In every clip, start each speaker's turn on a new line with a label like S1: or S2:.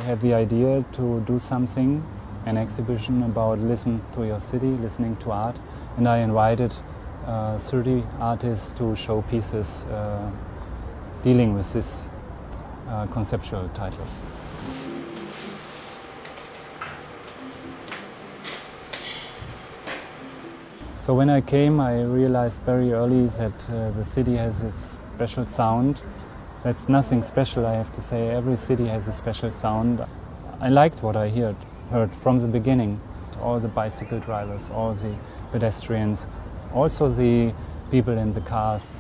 S1: had the idea to do something, an exhibition about listen to your city, listening to art, and I invited 30 artists to show pieces dealing with this conceptual title. So when I came, I realized very early that the city has this special sound. That's nothing special, I have to say. Every city has a special sound. I liked what I heard from the beginning. All the bicycle drivers, all the pedestrians, also the people in the cars.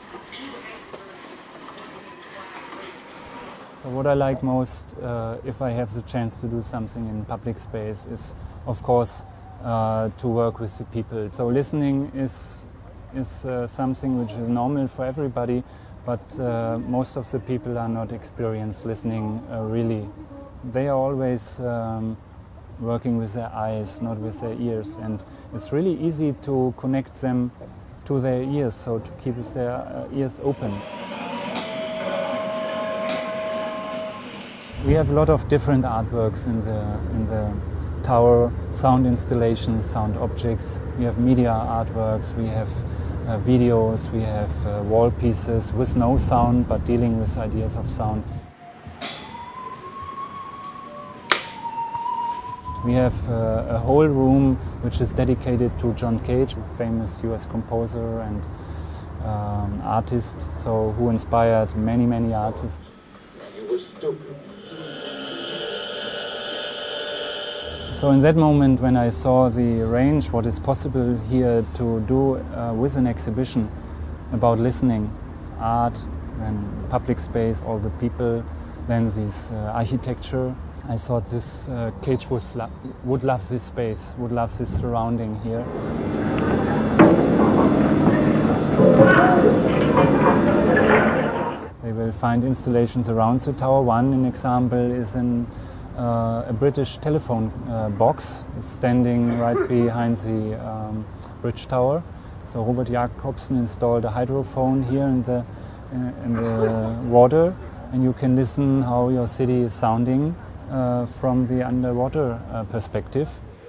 S1: So what I like most, if I have the chance to do something in public space, is of course to work with the people. So listening is something which is normal for everybody, but most of the people are not experienced listening really. They are always working with their eyes, not with their ears, and it's really easy to connect them to their ears, so to keep their ears open. We have a lot of different artworks in the tower, sound installations, sound objects. We have media artworks, we have videos, we have wall pieces with no sound but dealing with ideas of sound. We have a whole room which is dedicated to John Cage, a famous US composer and artist, so who inspired many artists.
S2: You were stupid.
S1: So in that moment when I saw the range, what is possible here to do with an exhibition about listening, art, and public space, all the people, then this architecture, I thought this Cage would love this space, would love this surrounding here. They will find installations around the tower. One, an example, is a British telephone box. It's standing right behind the bridge tower. So Robert Jacobsen installed a hydrophone here in the water, and you can listen how your city is sounding from the underwater perspective.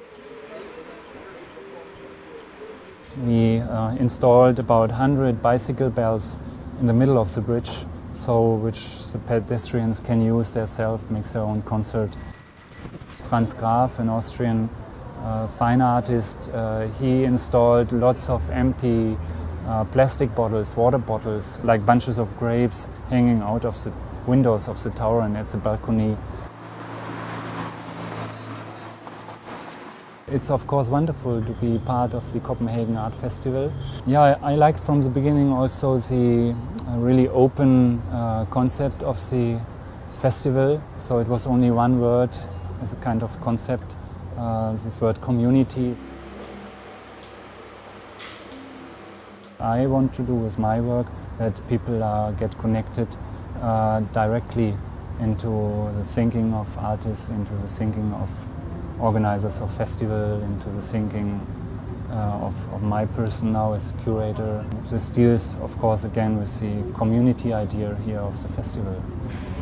S1: We installed about 100 bicycle bells in the middle of the bridge, so which the pedestrians can use themselves, make their own concert. Franz Graf, an Austrian fine artist, he installed lots of empty plastic bottles, water bottles, like bunches of grapes hanging out of the windows of the tower and at the balcony. It's of course wonderful to be part of the Copenhagen Art Festival. Yeah, I liked from the beginning also the really open concept of the festival. So it was only one word as a kind of concept, this word community. I want to do with my work that people get connected directly into the thinking of artists, into the thinking of organizers of festival, into the thinking of my person now as curator. This deals, of course, again with the community idea here of the festival.